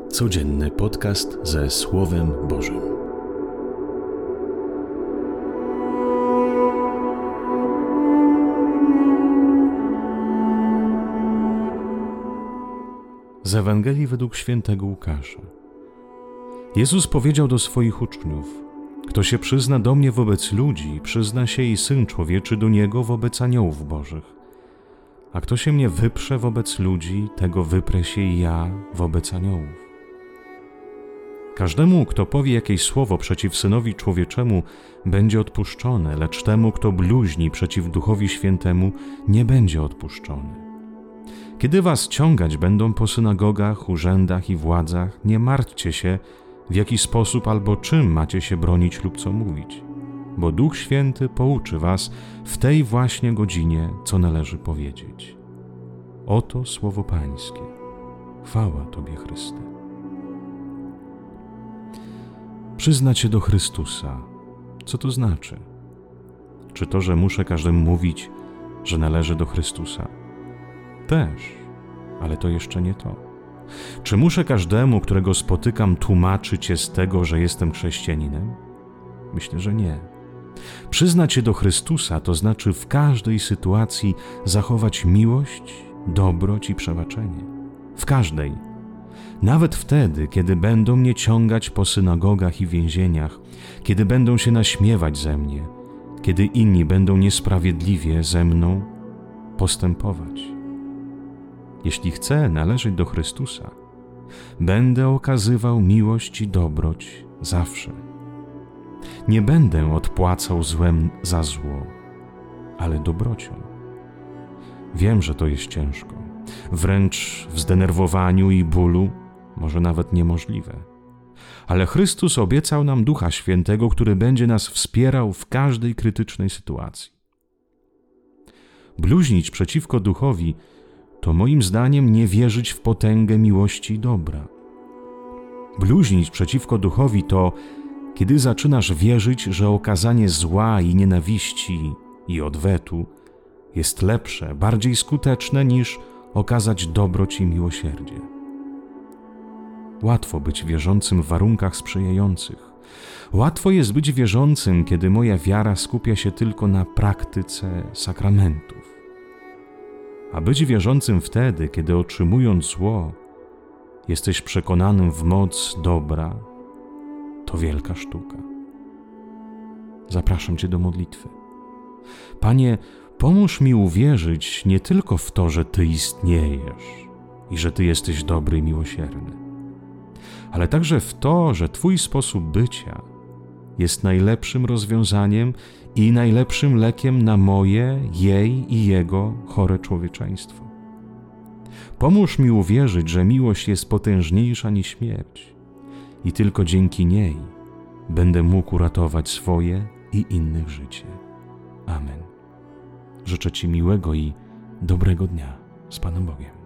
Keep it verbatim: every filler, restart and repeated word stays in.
Codzienny podcast ze Słowem Bożym. Z Ewangelii według świętego Łukasza. Jezus powiedział do swoich uczniów: kto się przyzna do mnie wobec ludzi, przyzna się i Syn Człowieczy do niego wobec aniołów bożych. A kto się mnie wyprze wobec ludzi, tego wyprę się i ja wobec aniołów. Każdemu, kto powie jakieś słowo przeciw Synowi Człowieczemu, będzie odpuszczone, lecz temu, kto bluźni przeciw Duchowi Świętemu, nie będzie odpuszczony. Kiedy was ciągać będą po synagogach, urzędach i władzach, nie martwcie się, w jaki sposób albo czym macie się bronić lub co mówić, bo Duch Święty pouczy was w tej właśnie godzinie, co należy powiedzieć. Oto słowo Pańskie. Chwała Tobie, Chryste. Przyznać się do Chrystusa. Co to znaczy? Czy to, że muszę każdemu mówić, że należy do Chrystusa? Też, ale to jeszcze nie to. Czy muszę każdemu, którego spotykam, tłumaczyć się z tego, że jestem chrześcijaninem? Myślę, że nie. Przyznać się do Chrystusa to znaczy w każdej sytuacji zachować miłość, dobroć i przebaczenie. W każdej. Nawet wtedy, kiedy będą mnie ciągać po synagogach i więzieniach, kiedy będą się naśmiewać ze mnie, kiedy inni będą niesprawiedliwie ze mną postępować. Jeśli chcę należeć do Chrystusa, będę okazywał miłość i dobroć zawsze. Nie będę odpłacał złem za zło, ale dobrocią. Wiem, że to jest ciężko, wręcz w zdenerwowaniu i bólu, może nawet niemożliwe. Ale Chrystus obiecał nam Ducha Świętego, który będzie nas wspierał w każdej krytycznej sytuacji. Bluźnić przeciwko Duchowi to moim zdaniem nie wierzyć w potęgę miłości i dobra. Bluźnić przeciwko Duchowi to, kiedy zaczynasz wierzyć, że okazanie zła i nienawiści i odwetu jest lepsze, bardziej skuteczne niż okazać dobroć i miłosierdzie. Łatwo być wierzącym w warunkach sprzyjających. Łatwo jest być wierzącym, kiedy moja wiara skupia się tylko na praktyce sakramentów. A być wierzącym wtedy, kiedy otrzymując zło, jesteś przekonanym w moc dobra, to wielka sztuka. Zapraszam Cię do modlitwy. Panie, pomóż mi uwierzyć nie tylko w to, że Ty istniejesz i że Ty jesteś dobry i miłosierny, ale także w to, że Twój sposób bycia jest najlepszym rozwiązaniem i najlepszym lekiem na moje, jej i jego chore człowieczeństwo. Pomóż mi uwierzyć, że miłość jest potężniejsza niż śmierć i tylko dzięki niej będę mógł uratować swoje i innych życie. Amen. Życzę Ci miłego i dobrego dnia z Panem Bogiem.